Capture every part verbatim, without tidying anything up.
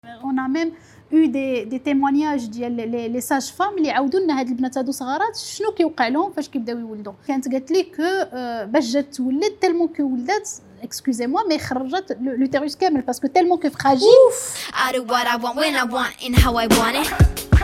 On a même eu des, des témoignages ديال les, les sages femmes اللي عاودوا لنا هاد البنات هادو صغارات شنو كيوقع لهم فاش كيبداو يولدوا. كانت قالت لي كو باش جات تولد تالمون كو ولدات excusez moi mais خرجت l'utérus كامل parce que tellement que fragile. I do what I want when I want and how I want it.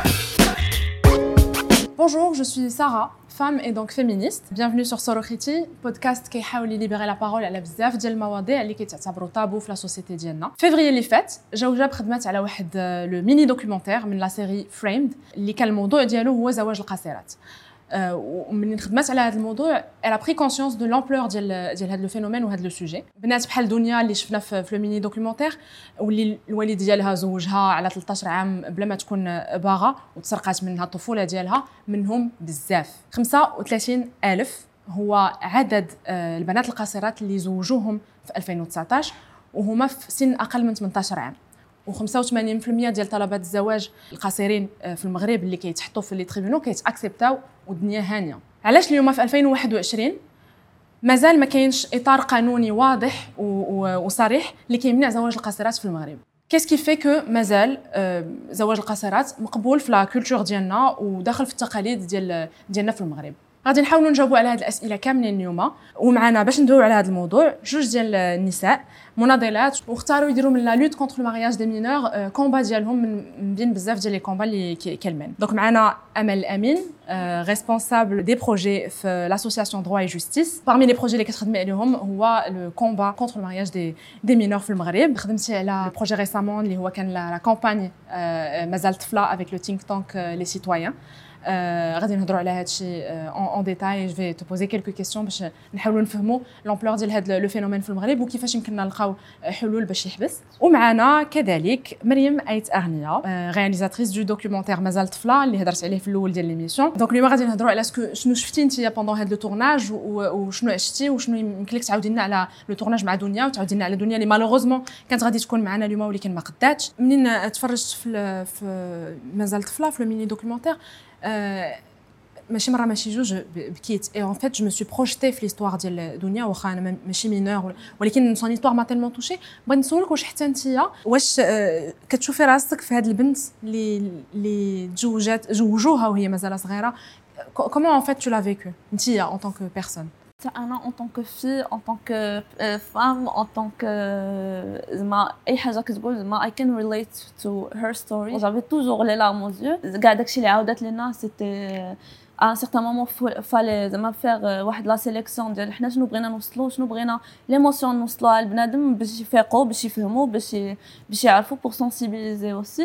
Bonjour, je suis Sarah, femme et donc féministe. Bienvenue sur Sorokhiti, podcast qui essaie de libérer la parole على بزاف ديال المواضيع اللي كيتعتبروا طابو في لا سوسيتي ديالنا. février اللي فات جاو جاب خدمات على واحد لو ميني دوكيومونتير من لا سيري فريمد اللي كان الموضوع ديالو هو زواج القاصرات. ومن خدمات على هذا الموضوع elle a pris conscience de l'ampleur ديال ديال هذا الفينومين وهذا لو سوجي. بنات بحال دنيا اللي شفنا في لو ميني دوكيومونتير واللي الوالد ديالها زوجها على ثلاثة عشر عام بلا ما تكون باغا وتسرقات منها الطفوله ديالها منهم بزاف. خمسة وثلاثين ألف هو عدد البنات القاصرات اللي زوجوهم في ألفين وتسعطاش وهما في سن اقل من ثمانية عشر عام. وخمسة وثمانين بالمئة ديال طلبات الزواج القاصرين في المغرب اللي كيتحطوا في لي تريبيونو كيتاكسبتاو والدنيا هانيه. علاش اليوم في ألفين وواحد وعشرين مازال ما كاينش اطار قانوني واضح وصريح اللي كيمنع زواج القاصرات في المغرب؟ كيس كي في كو مازال زواج القاصرات مقبول في لا كولتور ديالنا وداخل في التقاليد ديال ديالنا في المغرب؟ غادي نحاولوا نجاوبوا على هذه الاسئله كاملين اليوم ومعنا باش ندويو على هذا الموضوع جوج ديال النساء مناضلات واختاروا يديروا من لا لوت كونتر لو مارياج دي مينور كومبا ديالهم من بين بزاف ديال لي كومبا اللي كيلمن. دونك معنا امل امين ريسبونسابل دي بروجي في لاسوسياسيون دروا اي جوستيس. parmi لي بروجي اللي كتخدمي عليهم هو لو كومبا كونتر لو مارياج دي دي مينور في المغرب. خدمتي على بروجي ريسامون اللي هو كان لا كامباني مازال طفله افيك لو تينك تانك لي سيتويان. غادي نهضروا على هذا الشيء en détail. Je vais te poser quelques questions باش نحاولوا نفهموا l'ampleur ديال هذا لو فينومين في المغرب وكيفاش يمكننا نلقاو حلول باش يحبس. ومعنا كذلك مريم ايت اغنيه رياليزاتريس دو دوكيومونتير مازال طفله اللي هضرت عليه في الاول ديال ليميسيون. دونك اليوم غادي نهضروا على اسكو شنو شفتي انت بوندون هذا لو تورناج وشنو عشتي وشنو يمكن لك تعاودي لنا على لو تورناج مع دنيا وتعاودي لنا على دنيا اللي مالوغوزمون كانت غادي تكون معنا اليوم ولكن ما قداتش. منين تفرجت في في مازال طفله في الميني دوكيومونتير ماشي مره ماشي جوج بكيت اي ان فيت جو مي سوي بروجيتي في ليستوار ديال دنيا واخا انا ماشي مينور ولكن سون ليستوار ما تيلمون توشي. بغيت نسولك واش حتى نتيا واش كتشوفي راسك في هذه البنت اللي اللي تزوجات زوجوها وهي مازال صغيره كومون ان فيت تو لا فيكو نتيا ان طونك بيرسون؟ انا en tant que fille en tant que femme en tant que زعما اي حاجه كتقول زعما I can relate to her story. j'avais toujours les larmes aux yeux. كاع داكشي اللي عاودت لنا سيتي à un certain moment fallait زعما faire واحد لا سيليكسيون ديال حنا شنو بغينا نوصلوا شنو بغينا ليموسيون نوصلوها للبنادم باش يفيقوا باش يفهموا باش باش يعرفوا pour sensibiliser aussi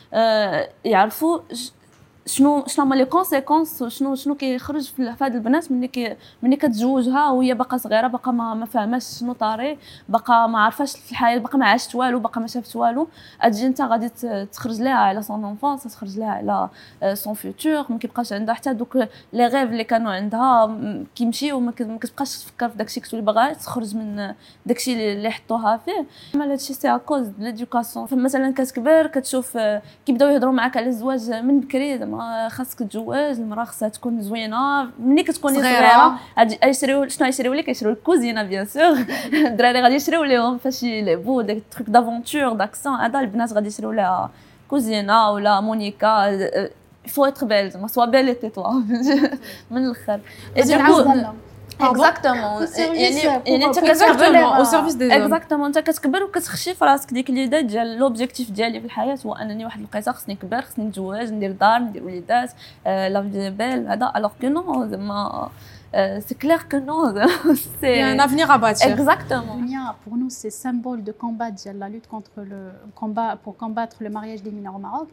يعرفوا شنو شنو هما لي كونسيكونس شنو شنو كيخرج في هاد البنات ملي كي ملي كتزوجها وهي باقا صغيره باقا ما ما فاهماش شنو طاري باقا ما عارفاش في الحياه باقا ما عاشت والو باقا ما شافت والو. اجي انت غادي تخرج لها على سون انفونس تخرج لها على سون فيوتور ما كيبقاش عندها حتى دوك لي غيف اللي كانوا عندها كيمشيو وما كتبقاش تفكر في داكشي كتولي باغا تخرج من داكشي اللي حطوها فيه. اما هادشي سي ا كوز د ليدوكاسيون. مثلا كتكبر كتشوف كيبداو يهضروا معاك على الزواج من بكري خاصك تتزوج المراه خاصها تكون زوينه ملي كتكوني صغيره غادي يشريو شنو يشريو لك يشريو الكوزينه بيان سور. الدراري غادي يشريو لهم فاش يلعبوا داك تروك دافونتور داكسون هذا البنات غادي يشريو لها كوزينه ولا مونيكا فو اتر بيل زعما سوا بيل اي توا من الاخر اكزاكتومون يعني يعني انت كتكبر او سيرفيس دي اكزاكتومون انت كتكبر وكتخشي في راسك ديك ليدا ديال لوبجيكتيف ديالي في الحياه هو انني واحد الوقيته خصني نكبر خصني نتزوج ندير دار ندير وليدات لا في بيل هذا الوغ كو نو زعما سي كلير كو نو سي un avenir à bâtir. Exactement. Dunia pour nous c'est symbole de combat de la lutte contre le combat pour combattre le mariage des mineurs au Maroc.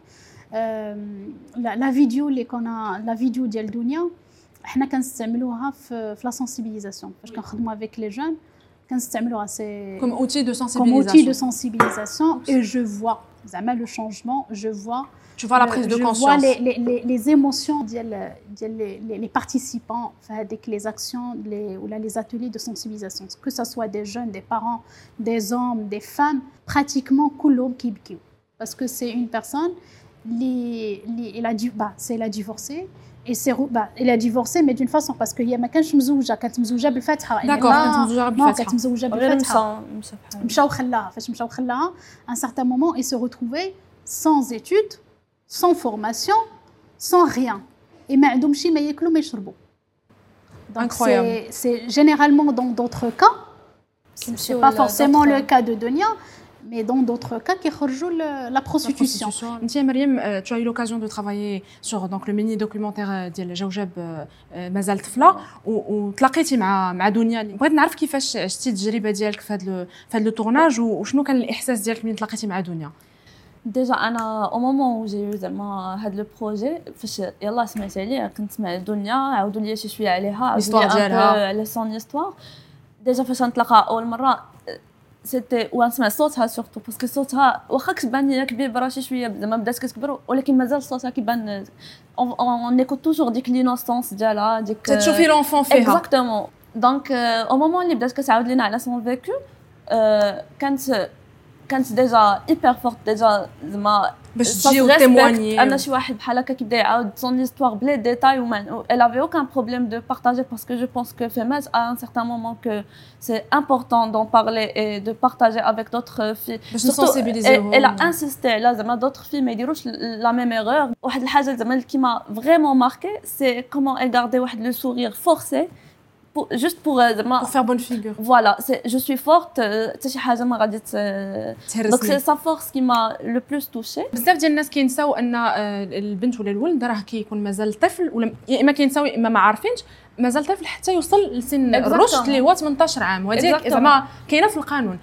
la la vidéo اللي كنا la vidéo ديال دنيا حنا كنستعملوها في في لا سنسيبيليزاسيون فاش كنخدموا افيك لي جون كنستعملوها سي comme outil de sensibilisation comme outil de sensibilisation et je vois زعما le changement je vois tu vois la prise de conscience je vois les les les, les émotions ديال ديال les, les participants في هذيك les actions les ou là les ateliers de sensibilisation que ça soit des jeunes des parents des hommes des femmes pratiquement كلهم كيبكيو parce que c'est une personne اللي اللي elle a dû bah c'est elle a divorcé. Et c'est bah elle a divorcé mais d'une façon parce que هي ما كانش مزوجه كانت مزوجه بالفاتحه داكور كانت مزوجه بالفاتحه كانت مزوجه بالفاتحه مشاو خلاها فاش مشاو خلاها ان سارتان مومون et se retrouver sans études, sans formation, sans rien. Et ما عندهم شي ما ياكلوا ما يشربوا. Donc c'est, c'est généralement dans d'autres cas, c'est pas forcément le cas de Donia, mais dans d'autres cas qui خرجوا la prostitution. انت مريم tu as eu l'occasion de travailler sur donc le mini documentaire ديال جوجب مازال طفله وتلاقيتي مع مع دنيا. بغيت نعرف كيفاش عشتي التجربه ديالك في هذا في هذا التورناج وشنو كان الاحساس ديالك ملي تلاقيتي مع دنيا. ديجا انا au moment où j'ai eu زعما هذا لو بروجي فاش يلاه سمعت عليه كنت مع دنيا عاودوا لي شي شويه عليها عاودوا لي على سون هيستوار. ديجا فاش نتلاقى اول مره سيتي ونسمع صوتها سورتو باسكو صوتها واخا كتبان ليا كبيره شي شويه زعما بدات كتكبر ولكن مازال صوتها كيبان اون ايكوت توجور ديك لينوسونس ديالها ديك تشوفي لونفون فيها اكزاكتومون. دونك او مومون اللي بدات كتعاود لينا على سون فيكو كانت كانت ديجا ايبر فورت ديجا زعما باش تجي وتيمواني انا شي واحد بحال هكا كيبدا يعاود سون هيستوار بلي ديتاي و elle avait aucun problème de partager parce que je pense que Femmes à un certain moment que c'est important d'en parler et de partager avec d'autres filles باش نسونسيبيليزيو. elle a insisté là زعما d'autres filles ما يديروش la même erreur. واحد الحاجه زعما اللي كيما vraiment marqué c'est comment elle gardait واحد le sourire forcé Pour, juste pour euh, pour faire bonne figure. Voilà, c'est, je suis forte. C'est شي حاجه ما غادي donc c'est sa force qui m'a le plus touchée. بزاف ديال الناس كينساو ان البنت ولا الولد راه كيكون مازال طفل ولا يا اما كينساو يا اما ما عارفينش مازال طفل حتى يوصل لسن الرشد اللي هو ثمانية عشر عام وهذيك زعما كاينه في القانون.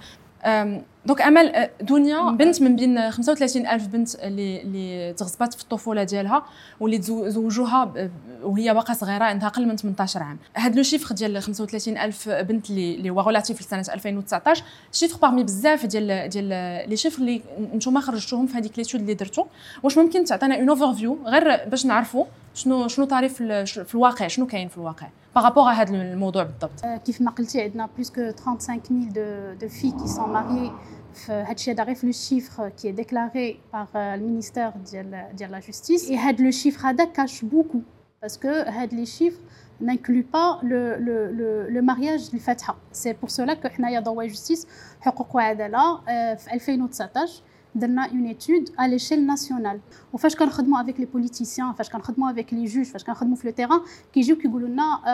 دونك امل دنيا بنت من بين خمسة وثلاثين ألف بنت اللي اللي تغصبات في الطفوله ديالها واللي تزوجوها وهي باقا صغيره عندها اقل من ثمانية عشر عام. هذا لو شيفر ديال خمسة وثلاثين ألف بنت اللي اللي هو ريلاتيف لسنه ألفين وتسعطاش شيفر باغمي بزاف ديال ديال لي شيفر اللي نتوما خرجتوهم في هذيك ليتود اللي درتو. واش ممكن تعطينا اون اوفر فيو غير باش نعرفوا شنو شنو طاري في, في الواقع شنو كاين في الواقع بارابور à هذا الموضوع بالضبط. كيف ما قلتي عندنا بلوس كو trente-cinq mille de de filles qui sont mariées. هادشي هذا غير في لو شيفر كي اي ديكلاري باغ المينيستير ديال ديال لا جوستيس. اي هاد لو شيفر هذا كاش بوكو باسكو هاد لي شيفر n'inclut pas le le le le mariage الفاتحه. C'est pour cela que حنايا ضوا جوستيس حقوق وعداله في ألفين وتسعطاش درنا اون ايتود à l'échelle nationale. وفاش كنخدموا avec les politiciens فاش كنخدموا avec les juges فاش كنخدموا في لو تيران كيجيو كيقولوا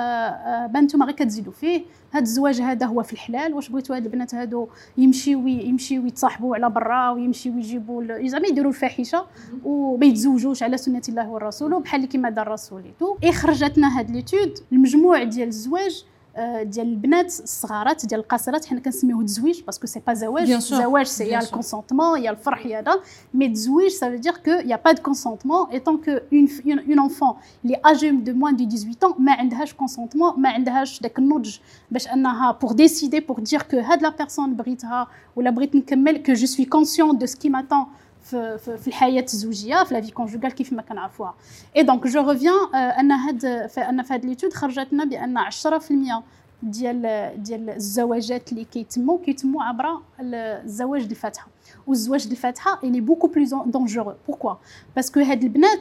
لنا بنتوما غير كتزيدوا فيه هذا الزواج هذا هو في الحلال. واش بغيتوا هاد البنات هادو يمشيو يمشيو يتصاحبوا على برا ويمشيو يجيبوا زعما يديروا الفاحشه وما يتزوجوش على سنه الله والرسول بحال كيما دار الرسول تو. اي خرجتنا هاد ليتود المجموع ديال الزواج ديال البنات الصغارات ديال القاصرات حنا كنسميوه تزويج باسكو سي با زواج. زواج سي يا الكونسونطمون يا الفرح يا هذا مي تزويج ça veut dire que y a pas de consentement étant que une une enfant اللي âgée de moins de dix-huit ans ما عندهاش consentement ما عندهاش داك النضج باش انها pour décider pour dire que هاد لا بيرسون بغيتها ولا بغيت نكمل que je suis consciente de ce qui m'attend في في الحياه الزوجيه في لا في كونجوغال كيف ما كنعرفوها. اي دونك جو ريفيان ان هاد ان في هاد ليتود خرجتنا بان عشرة في المية ديال ديال الزواجات اللي كيتموا كيتموا عبر الزواج الفاتحه. والزواج الفاتحه اللي بوكو بلوز دونجورو. بوركوا باسكو هاد البنات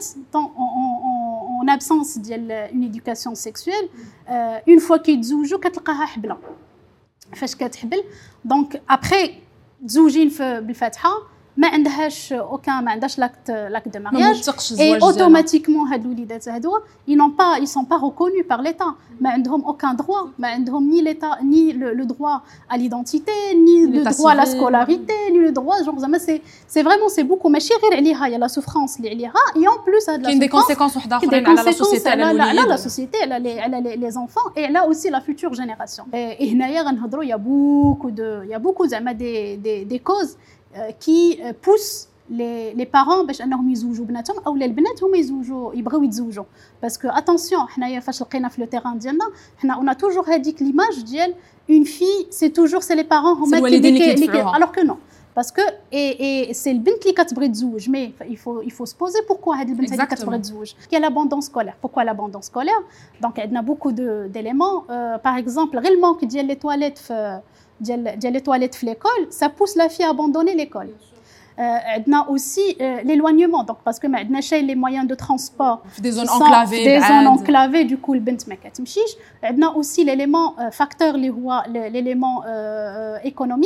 اون ابسونس ديال اون ايدوكاسيون سيكسويل اون فوا كيتزوجوا كتلقاها حبله. فاش كتحبل دونك ابري تزوجين بالفاتحه ما عندهاش اوكان ما عندهاش لاكت لاكت دو مارياج اي اوتوماتيكمون هاد الوليدات هادو ils n'ont pas ils sont pas reconnus par l'état ما عندهم aucun droit ما عندهم ni l'état ni le, le droit à l'identité ni le droit à la scolarité ni le droit genre زعما c'est c'est vraiment c'est beaucoup ماشي غير عليها يا لا سوفرانس اللي عليها et en plus هاد لا كاين دي كونسيكونس وحده اخرين على لا سوسيتي على الوليد على لا سوسيتي على لي على لي زونفون et على aussi la future génération et هنايا غنهضروا يا beaucoup de يا beaucoup زعما دي دي دي كوز qui pousse les les parents باش انهم يزوجوا بناتهم او البنات هما يزوجوا يبغيو يتزوجوا باسكو اتونسيون حنايا فاش لقينا في لو تيران ديالنا حنا اون توجور هذيك ليماج ديال اون في سي توجور سي لي بارون هما اللي alors que non parce que et et c'est البنت اللي كتبغي تزوج مي il faut il faut se poser pourquoi هاد البنت اللي كتبغي تزوج كاين لابوندون سكولير pourquoi l'abandon scolaire donc عندنا beaucoup de d'éléments par exemple غير المونك ديال لي تواليت في ديال ديال لي تواليت في ليكول ça pousse la fille à abandonner l'école. عندنا aussi l'éloignement donc parce que ما عندناش les moyens de transport في des zones enclavées des zones enclavées du coup البنت ما كتمشيش. عندنا aussi l'élément facteur اللي هو l'élément économique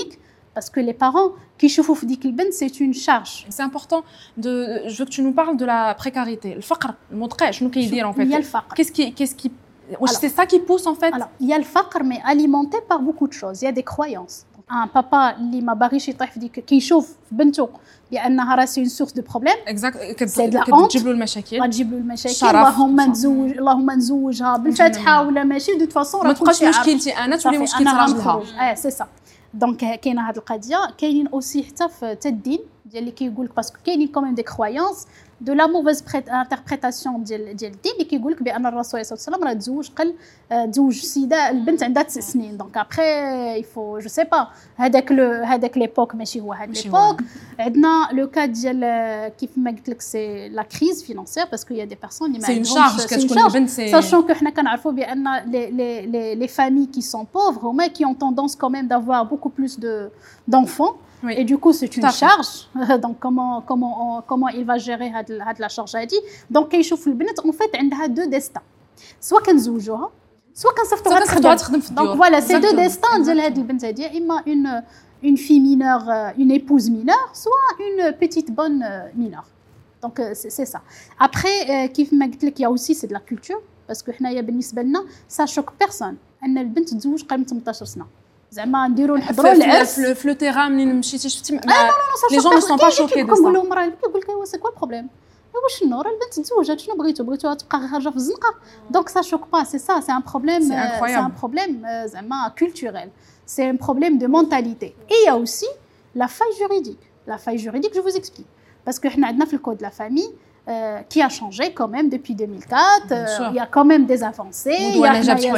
parce que les parents qui يشوفوا في ديك البنت c'est une charge. C'est important de je veux que tu nous parles de la précarité. الفقر المدقع شنو كيدير en fait? Il y a le faqr. Qu'est-ce qui qu'est-ce qui c'est ça qui pousse en fait? Alors, il y a le faqr mais alimenté par beaucoup de choses. Il y a des croyances. Un papa اللي ما باغيش يطيح في ديك كيشوف في بنته بانها راه سي une source de problème. Exact. كتجيب له المشاكل. غتجيب له المشاكل. اللهم نتزوج اللهم نزوجها بالفاتحه ولا ماشي دو فاصون راه كلشي مشكلتي انا تولي مشكل راجلها. اه سي سا. دونك كاينه هذه القضيه كاينين اوسي حتى في الدين ديال اللي كيقول لك باسكو كاينين كوميم دي كرويونس دو لا موفيز انتربريتاسيون ديال ديال الدين اللي كيقول لك بان الرسول صلى الله عليه وسلم راه تزوج قل تزوج سيده البنت عندها تسع سنين دونك ابخي يفو جو سي با هذاك لو هذاك ليبوك ماشي هو هذا ليبوك. عندنا لو كا ديال كيف ما قلت لك سي لا كريز فينانسيير باسكو يا دي بيرسون اللي ما عندهمش كتكون البنت سي ساشون كو حنا كنعرفوا بان لي لي لي لي فامي كي سون بوفر هما كي اون توندونس كوميم دافوار بوكو بلوس دو d'enfants. Oui. Et du coup, c'est une charge. Donc, comment, comment, on, comment il va gérer cette la charge à dire. Donc, quand il chauffe le bénet, en fait, elle a deux destins. Soit qu'elle زوجوها, soit qu'elle s'affronte تخدم. Donc, voilà, ces deux destins ديال هاد البنت هادي إما une une fille mineure, une épouse mineure, soit une petite bonne mineure. Donc, c'est, c'est ça. Après, كيف ما قلت لك, il y a aussi c'est de la culture parce que حنايا بالنسبة لنا ça choque personne أن البنت تزوج قبل ثمنطاش سنة. زعما نديروا نحضروا العرس في لو تيران منين مشيتي شفتي لي جون نو سون با شوكي دو سا. كنقول لهم راه كيقول لك ايوا سي كوا البروبليم ايوا شنو راه البنت تزوجات شنو بغيتو بغيتوها تبقى خارجه في الزنقه دونك سا شوك با سي سا سي ان بروبليم سي ان بروبليم زعما كولتوريل سي ان بروبليم دو مونتاليتي. اي يا اوسي لا فاي جوريديك لا فاي جوريديك جو فوز اكسبليك باسكو حنا عندنا في الكود لا فامي Euh, qui a changé quand même depuis deux mille quatre. Euh, il y a quand même des avancées. Il y,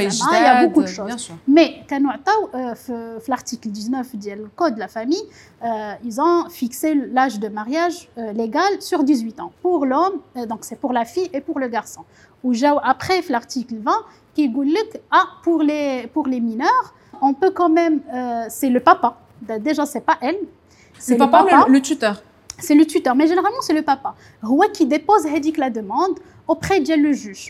y a beaucoup de choses. Mais quand on a euh, l'article dix-neuf du code de la famille, euh, ils ont fixé l'âge de mariage euh, légal sur dix-huit ans pour l'homme, euh, donc c'est pour la fille et pour le garçon. Ou après l'article vingt qui dit que ah, pour les pour les mineurs, on peut quand même euh, c'est le papa. Déjà c'est pas elle. C'est le papa, le, le tuteur. C'est le tuteur, mais généralement c'est le papa. Lui qui dépose la demande auprès de le juge.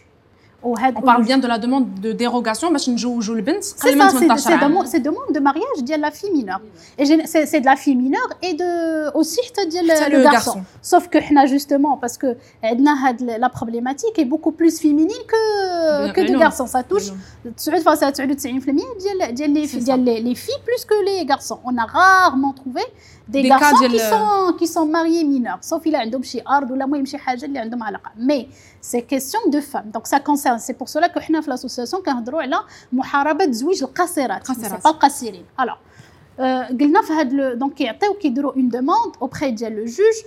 On parle bien de la demande de dérogation, mais c'est ça, c'est demande, c'est demande de mariage de la fille mineure. Et c'est, c'est de la fille mineure et de aussi de le, le garçon. Sauf que justement, parce que la problématique est beaucoup plus féminine que, que de garçons. Ça touche les filles plus que les garçons. On a rarement trouvé des, des garçons qui sont, qui sont mariés mineurs. Sauf qu'il a un شي ارض ولا المهم شي حاجه اللي عندهم علاقه. Mais c'est question de femmes. Donc ça concerne. C'est pour cela que حنا في l'association كنهضروا على محاربه زويج القاصرات. C'est pas القاصرين. Alors قلنا في هاد donc كيعطيو كيديروا une demande auprès ديال le juge.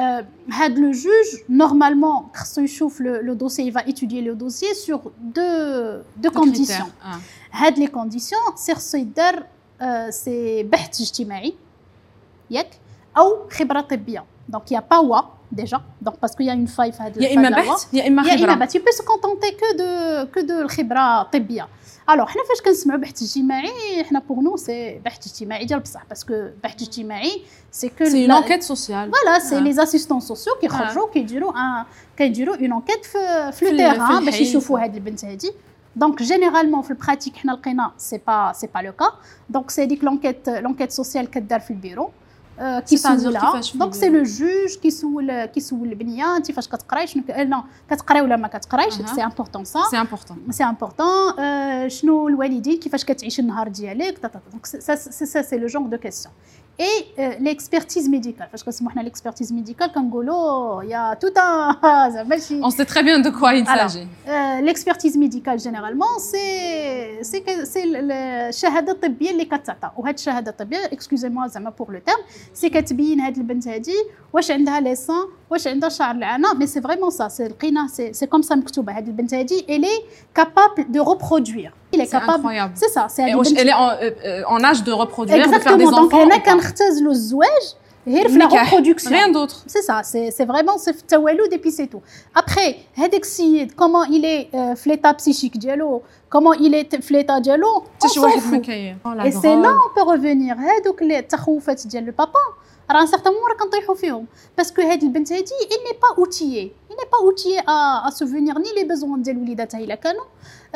هاد le juge normalement خصو يشوف le dossier, il va étudier le dossier sur deux deux conditions. هاد les conditions c'est خصو يدار c'est بحث اجتماعي ياك او خبره طبيه. Donc il y a pas wa déjà donc parce qu'il y a une faille في هذا يا اما بحث يا اما خبره. يا اما بحث. tu peux se contenter que de que de الخبره الطبيه. alors حنا فاش كنسمعوا بحث اجتماعي حنا pour nous c'est بحث اجتماعي ديال بصح parce que بحث اجتماعي c'est que c'est une enquête sociale. voilà c'est ah. les assistants sociaux qui خرجوا كيديروا ان كيديروا une enquête في في le terrain باش يشوفوا هاد البنت هادي. Donc généralement في البراتيك حنا لقينا c'est pas c'est pas le cas. donc c'est ديك l'enquête l'enquête sociale كدار في البيرو كيسولها. دونك سي لو جوج كيسول كيسول البنيه انت فاش كتقراي شنو لا كتقراي ولا ما كتقرايش. سي امبورطون سا سي امبورطون سي امبورطون شنو الوالدين كيفاش كتعيش النهار ديالك. دونك سا سا سي لو جونغ دو كيسيون. Et euh, l'expertise médicale, parce que c'est moi l'expertise médicale, Kangolo, il y a tout un. On sait très bien de quoi il s'agit. Euh, l'expertise médicale généralement, c'est c'est que c'est le shahada طبية اللي كتعطى. وهاد الشهادة الطبية, excusez-moi زعما pour le terme, c'est كتبين هاد البنت هادي واش عندها ليسان, واش عندها شعر العنق, mais c'est vraiment ça, c'est لقينا c'est c'est comme ça مكتوبة. هاد البنت هادي elle est capable de reproduire. Il est capable. Incroyable. C'est ça. C'est elle est en, euh, en âge de reproduire, exactement. de faire des donc, enfants. Donc, on a كنختزلوا الزواج غير في la reproduction. Rien d'autre. C'est ça. C'est c'est vraiment c'est التولد et puis c'est tout. Après, هذاك السيد comment il est euh, في l'état psychique ديالو, comment il est في l'état ديالو. شي واحد مكيف. Et c'est là on peut revenir. هذوك التخوفات ديال البابا راه ان سارتان مومون راه كنطيحوا فيهم باسكو هاد البنت هادي il n'est pas outillé il n'est pas outillé à à souvenir ni les besoins ديال وليداتها الا كانوا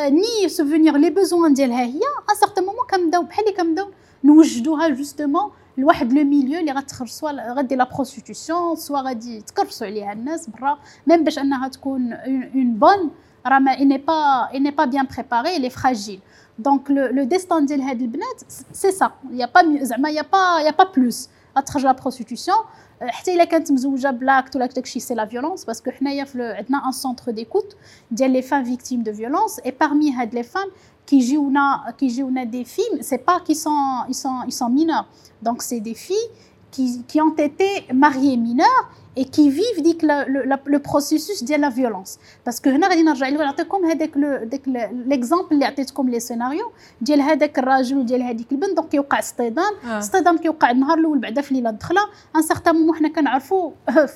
ni souvenir les besoins ديالها هي ان سارتان مومون كنبداو بحال اللي كنبداو نوجدوها جوستومون لواحد لو ميليو اللي غتخرج سوا غدي لا بروستيتيوشن سوا غادي تكرسوا عليها الناس برا ميم باش انها تكون اون بون راه ما اني با اني با بيان بريباري لي فراجيل دونك لو ديستان ديال هاد البنات سي سا يا با زعما يا با يا با بلوس غتخرج لا بروستيتيوشن حتى الا كانت مزوجه بلاكت ولا داكشي سي لا فيولونس باسكو حنايا عندنا ان سونتر ديكوت ديال لي فام فيكتيم دو فيولونس اي parmi هاد لي فام كيجيونا كيجيونا دي فيلم سي با كي سون ils sont ils sont mineurs donc c'est des filles qui qui ont été mariées mineures et qui vivent ديك le processus ديال la violence parce que هنا غادي نرجع لكم نعطيكم هذاك داك ليكزامبل اللي عطيتكم لي سيناريو ديال هذاك الراجل وديال هذيك البنت دونك كيوقع اصطدام اصطدام كيوقع النهار الاول بعدا في الليله الدخله ان سارتان مومون حنا كنعرفوا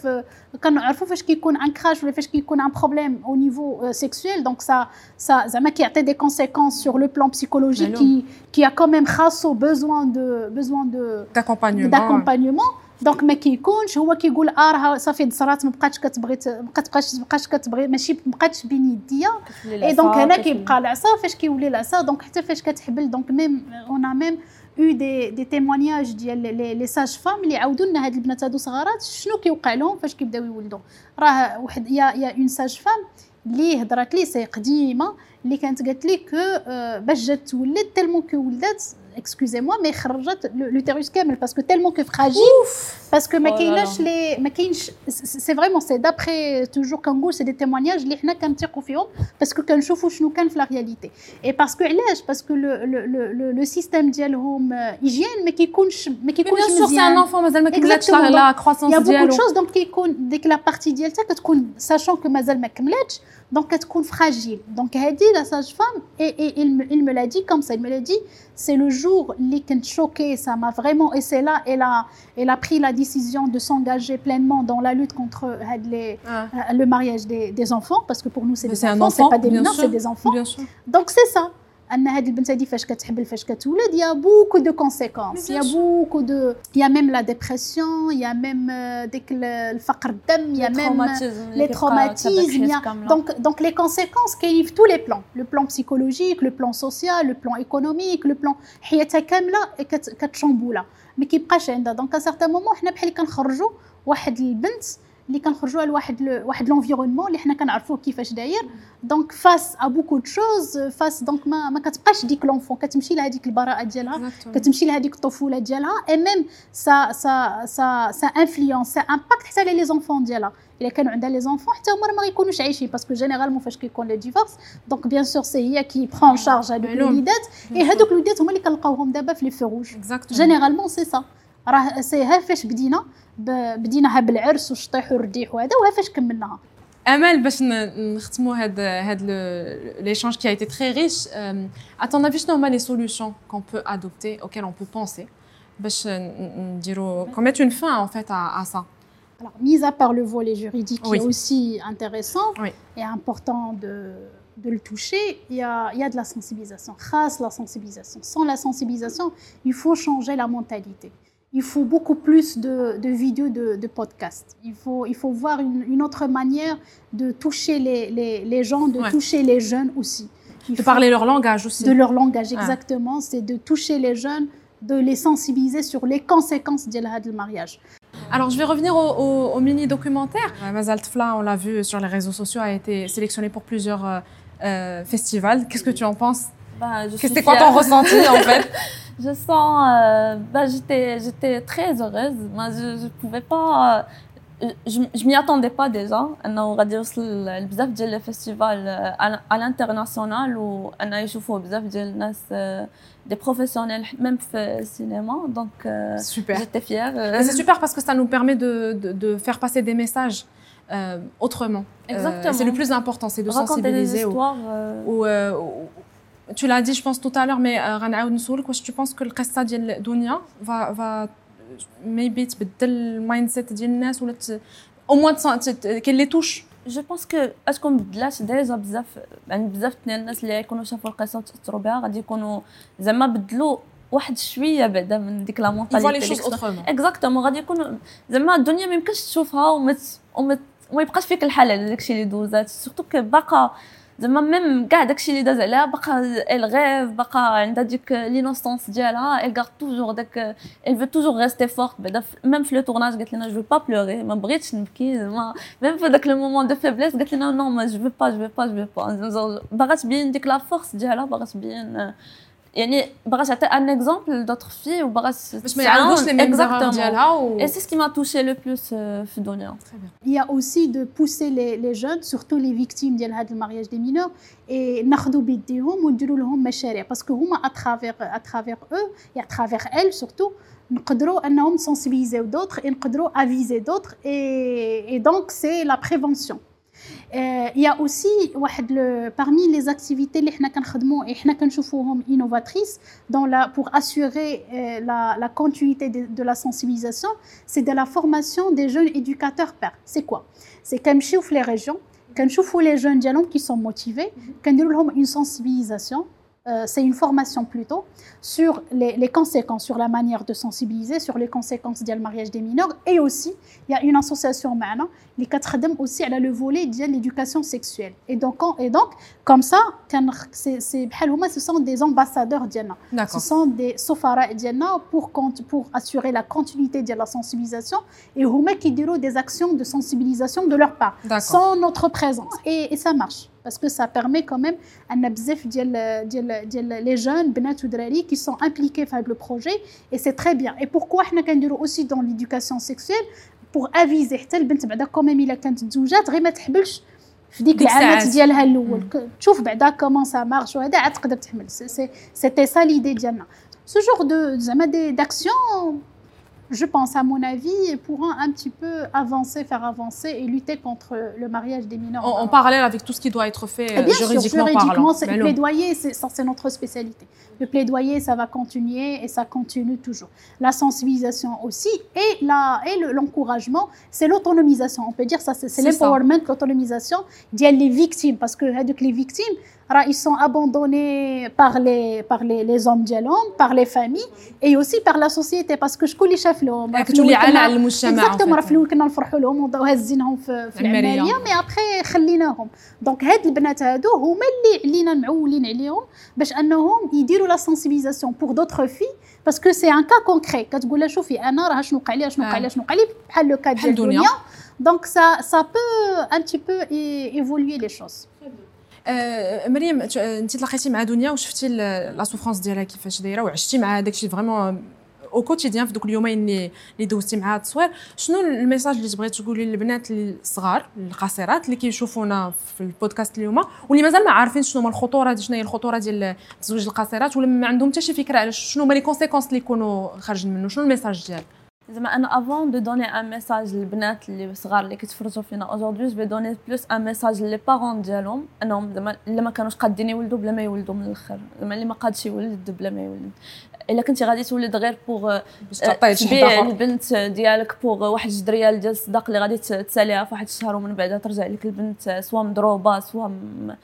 كنعرفوا فاش كيكون ان كراش ولا فاش كيكون ان بروبليم او نيفو سيكسويل دونك سا سا زعما كيعطي دي كونسيكونس سور لو بلان بسيكولوجيك كي كي ا كوميم خاصو بيزوان دو بيزوان دو داكومبانيومون دونك ما كيكونش هو كيقول اه راه صافي صرات ما بقاتش كتبغي ما بقاتش بقاش كتبغي ماشي ما بقاتش بين يديا اي دونك هنا كيبقى العصا فاش كيولي العصا دونك حتى فاش كتحبل دونك ميم اون ميم او دي دي تيمونياج ديال لي ساج فام اللي عاودوا لنا هاد البنات هادو صغارات شنو كيوقع لهم فاش كيبداو يولدوا راه واحد يا يا اون ساج فام اللي هضرات لي سي قديمه اللي كانت قالت لي كو باش جات تولد تالمون كو ولدات excusez-moi mais خرجت l'utérus كامل parce que tellement que fragile parce que ما كايناش لي ما كاينش c'est vraiment c'est d'après toujours كنقول c'est des témoignages اللي حنا كنثقوا فيهم parce que كنشوفوا شنو كان في la réalité et parce que علاش parce que le le le le système ديالهم hygiène ما كيكونش ما كيكونش مزيان bien sûr c'est un enfant مازال ما كملاتش la croissance ديالو il y a beaucoup de choses donc كيكون ديك la partie ديالتها كتكون sachant que مازال ما كملاتش donc كتكون fragile donc هادي la sage femme et, et il me il me l'a dit comme ça il me l'a dit c'est le jour اللي كنت choquée ça m'a vraiment et c'est là elle a elle a pris la décision de s'engager pleinement dans la lutte contre had les ah. le mariage des des enfants parce que pour nous c'est des enfants c'est pas des mineurs c'est des enfants donc c'est ça ان هاد البنت هادي فاش كتحبل فاش كتولد يا بوكو دو كونسيكونس يا بوكو دو يا ميم لا ديبرسيون يا ميم ديك الفقر الدم يا ميم لي تروماتيزم دونك دونك لي كونسيكونس كاينين في تو لي بلان لو بلان بسيكولوجيك لو بلان سوسيال لو بلان ايكونوميك لو بلان حياتها كامله كتشامبولا ما كيبقاش عندها دونك ا سارتان مومون حنا بحال كنخرجوا واحد البنت اللي كنخرجوا لواحد واحد لونفيرونمون اللي حنا كنعرفوه كيفاش داير دونك فاس ا بوكو دو شوز فاس دونك ما ما كتبقاش ديك لونفون كتمشي لهذيك البراءه ديالها كتمشي لهذيك الطفوله ديالها اي ميم سا سا سا سا انفلونس سا امباكت حتى على لي زونفون ديالها الا كانوا عندها لي زونفون حتى هما ما غيكونوش عايشين باسكو جينيرالمون فاش كيكون لي ديفورس دونك بيان سور سي هي كي برون شارج هذوك الوليدات اي هذوك الوليدات هما اللي كنلقاوهم دابا في لي في روج جينيرالمون سي سا راه سي ها فاش بدينا بديناها بالعرس والشطيح والرديح وهذا وها فاش كملناها امل باش نختموا هاد هاد l'échange qui a été très riche à ton avis شنو هما les solutions qu'on peut adopter auxquelles on peut penser باش نديروا qu'on mette une fin en fait à, à ça alors mis à part le volet juridique oui. qui est aussi intéressant oui. et important de de le toucher, il y a, il y a de la sensibilisation. Grâce à la sensibilisation. Sans la sensibilisation, il faut changer la mentalité. Il faut beaucoup plus de, de vidéos, de, de podcasts. Il faut, il faut voir une, une autre manière de toucher les, les, les gens, de ouais. toucher les jeunes aussi. Il de parler leur langage aussi. De leur langage, exactement. Ah. C'est de toucher les jeunes, de les sensibiliser sur les conséquences du mariage. Alors, je vais revenir au, au, au mini-documentaire. Mazal Tfla, on l'a vu sur les réseaux sociaux, a été sélectionné pour plusieurs euh, euh, festivals. Qu'est-ce que tu en penses? Bah, C'était quoi ton ressenti en fait? Je sens, euh, bah, j'étais, j'étais très heureuse. Moi, je, je pouvais pas, euh, je, je m'y attendais pas déjà. أنه غادي يوصل بزاف ديال الفestival à l'international و أنه يشوفوا بزاف ديال الناس des professionnels même في السينما. Donc, euh, super. J'étais fière. C'est super parce que ça nous permet de, de, de faire passer des messages euh, autrement. Exactement. Euh, c'est le plus important, c'est de raconter sensibiliser. Des histoires, euh... ou, ou, ou, tu l'as dit, je pense tout à l'heure, mais غنعاود نسولك واش tu penses que القصة ديال دنيا va va maybe تبدل المايند سيت ديال الناس ولا au moins كاين لي توش. Je pense que اسكو مبدلاش ديجا بزاف يعني بزاف ديال الناس اللي يكونوا شافوا القصة وتأثروا بها غادي يكونوا زعما بدلوا واحد شويه بعدا من ديك لا مونطاليتي اكزاكتومون غادي يكونوا زعما الدنيا ما يمكنش تشوفها وما وما يبقاش فيك الحال على داكشي اللي دوزات سورتو كو باقا زعما ميم كاع داكشي اللي داز عليها باقا الغيف باقا عندها ديك لينوسونس ديالها ال غار توجور داك ال فو توجور ريستي فورت بعدا ميم في لو تورناج قالت لنا جو با بلوري ما بغيتش نبكي زعما ميم في داك لو مومون دو فيبليس قالت لنا نو ما جو با جو با جو با باغا تبين ديك لا فورس ديالها باغا تبين يعني باغا تعطي ان اكزامبل دوطر في وباغا باش ما يعاودوش لي ميم زيرور ديالها و اي سي سكي ما توشي لو بلوس في الدنيا. Il y a aussi de pousser les, les jeunes, surtout les victimes de هذا المارياج des mineurs, et ناخذوا بيديهم ونديروا لهم مشاريع parce que هما à travers à travers eux et à travers elles surtout نقدروا انهم sensibiliser d'autres et نقدروا aviser d'autres et et donc c'est la prévention. Euh, il y a aussi واحد le, parmi les activités اللي حنا كنخدموا et حنا كنشوفوهم innovatrices dans la pour assurer euh, la la continuité de, de la sensibilisation, c'est de la formation des jeunes éducateurs pairs. C'est quoi? C'est كنمشيو في les régions كنشوفوا les jeunes ديالهم qui sont motivés كنديروا لهم une sensibilisation. Euh, c'est une formation plutôt sur les, les conséquences, sur la manière de sensibiliser, sur les conséquences du mariage des mineurs. Et aussi, il y a une association معنا اللي كتخدم aussi على le volet de l'éducation sexuelle. Et donc, et donc comme ça, c'est, c'est بحال هما, ce sont des ambassadeurs ديالنا. Ce sont des سفراء ديالنا pour, pour assurer la continuité de la sensibilisation. Et هما كيديروا des actions de sensibilisation de leur part, D'accord. sans notre présence. Et, et ça marche. Parce que ça permet quand même à bzaf ديال ديال ديال les jeunes بنات ودراري qui sont impliqués dans le projet et c'est très bien. Et pourquoi حنا كنديروا aussi dans l'éducation sexuelle pour aviser حتى البنت بعدا quand même الا كانت تزوجات غير ما تحبلش في ديك العامات ديالها الاول تشوف بعدا كومون سا مارش وهذا عاد تقدر تحمل. C'était ça l'idée ديالنا. Ce genre de زعما d'action, je pense, à mon avis, pourront un petit peu avancer, faire avancer et lutter contre le mariage des mineurs. En, en parallèle avec tout ce qui doit être fait euh, bien juridiquement, sûr, juridiquement parlant. Le plaidoyer, c'est, ça, c'est notre spécialité. Le plaidoyer, ça va continuer et ça continue toujours. La sensibilisation aussi et, la, et le, l'encouragement, c'est l'autonomisation. On peut dire ça, c'est, c'est, c'est l'empowerment, ça. L'autonomisation des victimes. Parce que les victimes, ils sont abandonnés par les, par les, les hommes dialons, par les familles et aussi par la société. Parce que je connais chef l'homme. Exactement, راه في الأول كنا نفرحوا لهم وهزينهم في في العملية مي ابخي خليناهم. دونك هاد البنات هادو هما اللي علينا معولين عليهم باش انهم يديروا لا سنسيبيليزاسيون بور دوطخ في باسكو سي ان كا كونكري كتقول لها شوفي انا راه شنو وقع لي شنو وقع لي شنو وقع لي بحال لو كا ديال دنيا. دونك سا سا بو ان تي بو ايفولوي لي شوز. أه مريم انت تلاقيتي مع دنيا وشفتي لا سوفرانس ديالها كيفاش دايره وعشتي مع داكشي فريمون او كوتيديان في دوك اليومين اللي اللي دوزتي معها التصوير. شنو الميساج اللي تبغي تقولي للبنات الصغار القاصرات اللي كيشوفونا في البودكاست اليوم واللي مازال ما عارفين شنو هما الخطوره ديال شنو هي الخطوره ديال تزويج القاصرات ولا ما عندهم حتى شي فكره على شنو هما لي كونسيكونس اللي يكونوا خارجين منه؟ شنو الميساج ديالك؟ زعما انا افون دو دوني ان ميساج للبنات اللي صغار اللي كيتفرجوا فينا اودجوردي جو في دوني بلوس ان ميساج لي بارون ديالهم انهم زعما الا ما كانوش قادين يولدوا بلا ما يولدوا من الاخر. زعما اللي ما قادش يولد بلا ما يولد الا كنتي غادي تولد غير بوغ تبيع البنت ديالك بوغ واحد جوج ريال ديال الصداق اللي غادي تساليها في واحد الشهر ومن بعد ترجع لك البنت سوا مضروبه سوا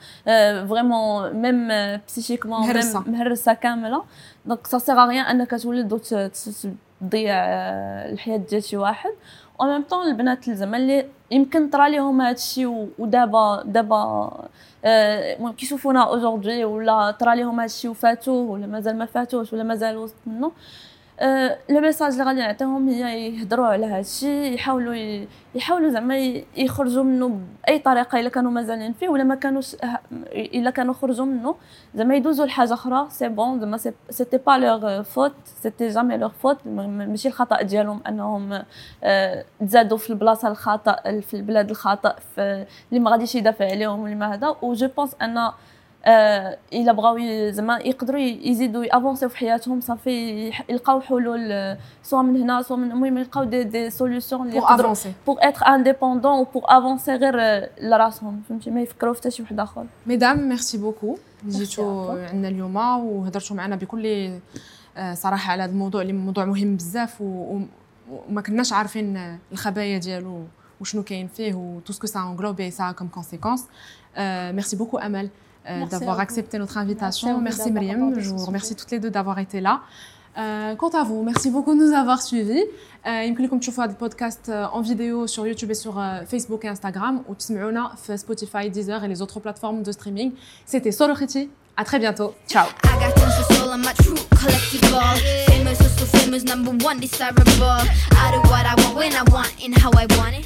فريمون ميم بسيشيكمون مهرسه مهرسه كامله. دونك سا سيغ ريان انك تولد وتضيع الحياه ديال شي واحد. و ميم طون البنات زعما اللي يمكن طرا ليهم هذا الشيء ودابا دابا المهم كيشوفونا اودجوردي ولا طرا ليهم هذا الشيء وفاتوه ولا مازال ما فاتوش ولا مازال وسط منه. لو ميساج اللي غادي نعطيهم هي يهضروا على هذا الشيء يحاولوا يحاولوا زعما يخرجوا منه باي طريقه الا كانوا مازالين فيه ولا ما كانوش الا كانوا خرجوا منه زعما يدوزوا لحاجه اخرى. سي بون زعما سيتي با لور فوت سيتي جامي لور فوت ماشي الخطا ديالهم انهم تزادوا في البلاصه الخطا في البلاد الخطا اللي ما غاديش يدافع عليهم ولا ما هذا. و جو بونس ان الا بغاو زعما يقدروا يزيدوا يافونسيو في حياتهم صافي يلقاو حلول سواء من هنا سواء من المهم يلقاو دي دي سوليوشن اللي يقدروا بوغ اتر انديبوندون و بوغ افونسي غير لراسهم فهمتي ما يفكروا في حتى شي واحد اخر. ميدام ميرسي بوكو جيتوا عندنا اليوم وهضرتوا معنا بكل صراحه على هذا الموضوع اللي موضوع مهم بزاف وما كناش عارفين الخبايا ديالو وشنو كاين فيه و tout ce que ça englobe et ça a comme conséquence. Euh, merci beaucoup Amel euh, d'avoir accepté notre invitation. Merci, merci Myriam, je vous remercie toutes les deux d'avoir été là. Euh, quant à vous, merci beaucoup de nous avoir suivis. يمكن لكم تشوفوا هذا البودكاست en vidéo sur YouTube et sur Facebook et Instagram ou تسمعونا في Spotify, Deezer et les autres plateformes de streaming. C'était Sorokhiti. À très bientôt. Ciao. I got tons of soul on my true collectible. Famous, so famous, number one desirable. I do what I want when I want and how I want it.